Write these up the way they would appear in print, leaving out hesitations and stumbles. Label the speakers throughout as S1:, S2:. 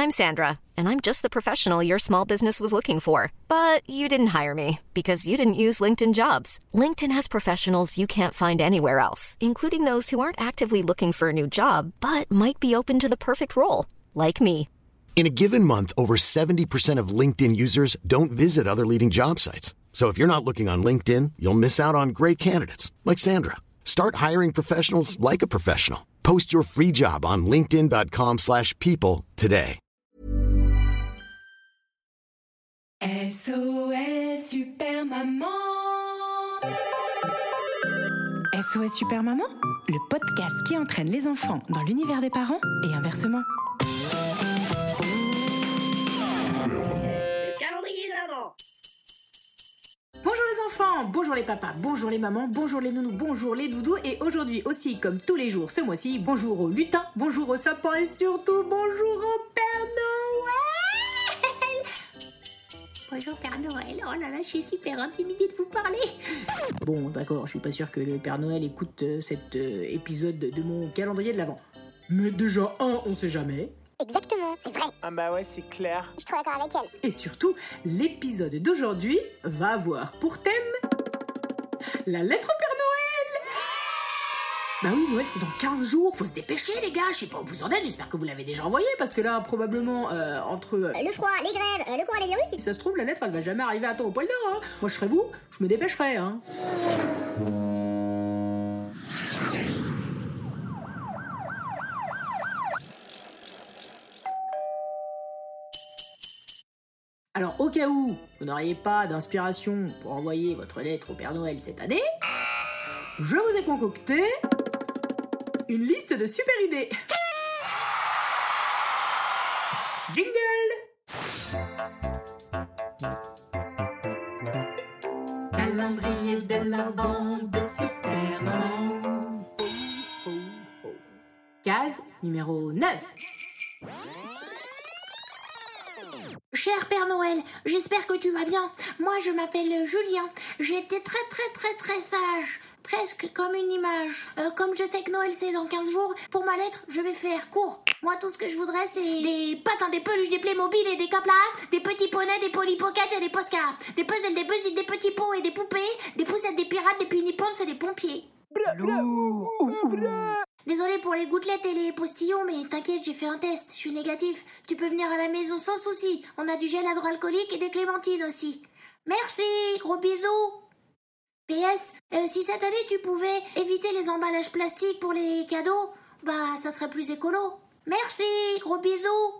S1: I'm Sandra, and I'm just the professional your small business was looking for. But you didn't hire me because you didn't use LinkedIn Jobs. LinkedIn has professionals you can't find anywhere else, including those who aren't actively looking for a new job, but might be open to the perfect role, like me.
S2: In a given month, over 70% of LinkedIn users don't visit other leading job sites. So if you're not looking on LinkedIn, you'll miss out on great candidates like Sandra. Start hiring professionals like a professional. Post your free job on linkedin.com/people today.
S3: SOS Super Maman. SOS Super Maman, le podcast qui entraîne les enfants dans l'univers des parents et inversement. Bonjour les enfants, bonjour les papas, bonjour les mamans, bonjour les nounous, bonjour les doudous et aujourd'hui aussi comme tous les jours ce mois-ci, bonjour au lutin, bonjour au sapin et surtout bonjour au Père Noël.
S4: Bonjour Père Noël, oh là là, je suis super intimidée de vous parler.
S3: Bon d'accord, je suis pas sûr que le Père Noël écoute cet épisode de mon calendrier de l'Avent. Mais déjà on sait jamais.
S4: Exactement, c'est vrai.
S5: Ah bah ouais, c'est clair.
S4: Je suis trop d'accord avec elle.
S3: Et surtout, l'épisode d'aujourd'hui va avoir pour thème la lettre au Père Noël. Bah oui, Noël c'est dans 15 jours, faut se dépêcher les gars, je sais pas où vous en êtes, j'espère que vous l'avez déjà envoyé parce que là probablement entre...
S4: le froid, les grèves, le coronavirus...
S3: Si ça se trouve la lettre elle va jamais arriver à temps au pôle Nord, hein. Moi je serais vous, je me dépêcherais hein. Alors, au cas où vous n'auriez pas d'inspiration pour envoyer votre lettre au Père Noël cette année, je vous ai concocté une liste de super idées. Jingle! Calendrier de l'Avent de Super Maman. Case numéro 9.
S4: Cher Père Noël, j'espère que tu vas bien. Moi, je m'appelle Julien. J'étais très sage. Presque comme une image. Comme je sais que Noël c'est dans 15 jours, pour ma lettre, je vais faire court. Moi, tout ce que je voudrais, c'est des patins, des peluches, des Playmobil et des caplas, des petits poneys, des Polly Pocket et des Posca, des puzzles, des buzzies, des petits pots et des poupées, des poussettes, des pirates, des pinipons et des pompiers. Désolée pour les gouttelettes et les postillons, mais t'inquiète, j'ai fait un test, je suis négatif. Tu peux venir à la maison sans souci. On a du gel hydroalcoolique et des clémentines aussi. Merci, gros bisous. PS, si cette année tu pouvais éviter les emballages plastiques pour les cadeaux, bah ça serait plus écolo. Merci, gros bisous.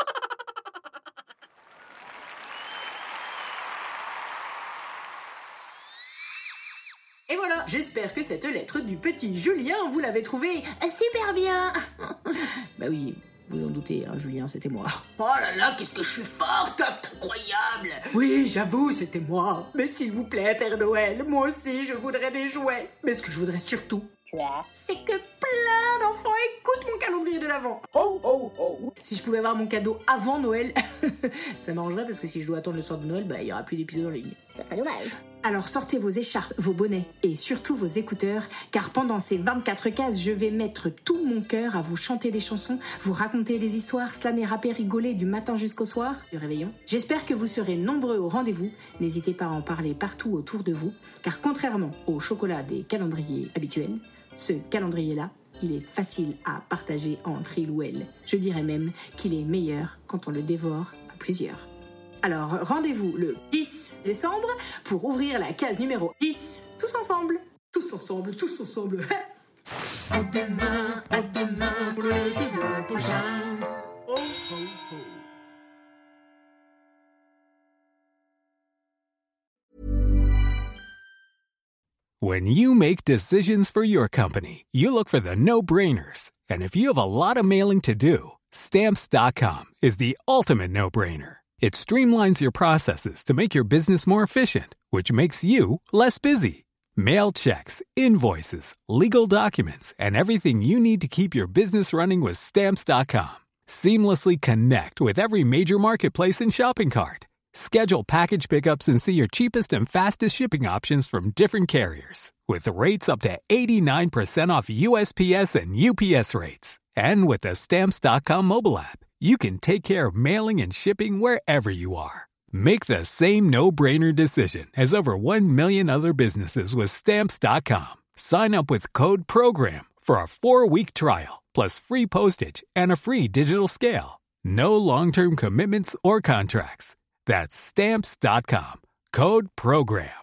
S3: Et voilà, j'espère que cette lettre du petit Julien, vous l'avez trouvée
S4: Super bien.
S3: Bah oui, vous en doutez, hein, Julien, c'était moi.
S6: Oh là là, qu'est-ce que je suis forte, incroyable.
S3: Oui, j'avoue, c'était moi. Mais s'il vous plaît, Père Noël, moi aussi, je voudrais des jouets. Mais ce que je voudrais surtout, c'est que plein d'enfants écoutent mon calendrier de l'Avent. Si je pouvais avoir mon cadeau avant Noël, ça m'arrangerait parce que si je dois attendre le soir de Noël, bah il y aura plus d'épisodes en ligne.
S4: Ça serait dommage.
S3: Alors sortez vos écharpes, vos bonnets et surtout vos écouteurs, car pendant ces 24 cases, je vais mettre tout mon cœur à vous chanter des chansons, vous raconter des histoires, slammer, rapper, rigoler du matin jusqu'au soir, du réveillon. J'espère que vous serez nombreux au rendez-vous. N'hésitez pas à en parler partout autour de vous, car contrairement au chocolat des calendriers habituels, ce calendrier-là, il est facile à partager entre il ou elle. Je dirais même qu'il est meilleur quand on le dévore à plusieurs. Alors, rendez-vous le 10 décembre pour ouvrir la case numéro 10. Tous ensemble. Tous ensemble, tous ensemble. À demain pour l'épisode prochain. Oh, oh, oh.
S7: When you make decisions for your company, you look for the no-brainers. And if you have a lot of mailing to do, Stamps.com is the ultimate no-brainer. It streamlines your processes to make your business more efficient, which makes you less busy. Mail checks, invoices, legal documents, and everything you need to keep your business running with Stamps.com. Seamlessly connect with every major marketplace and shopping cart. Schedule package pickups and see your cheapest and fastest shipping options from different carriers. With rates up to 89% off USPS and UPS rates. And with the Stamps.com mobile app, you can take care of mailing and shipping wherever you are. Make the same no-brainer decision as over 1 million other businesses with Stamps.com. Sign up with Code PROGRAM for a 4-week trial, plus free postage and a free digital scale. No long-term commitments or contracts. That's Stamps.com. Code PROGRAM.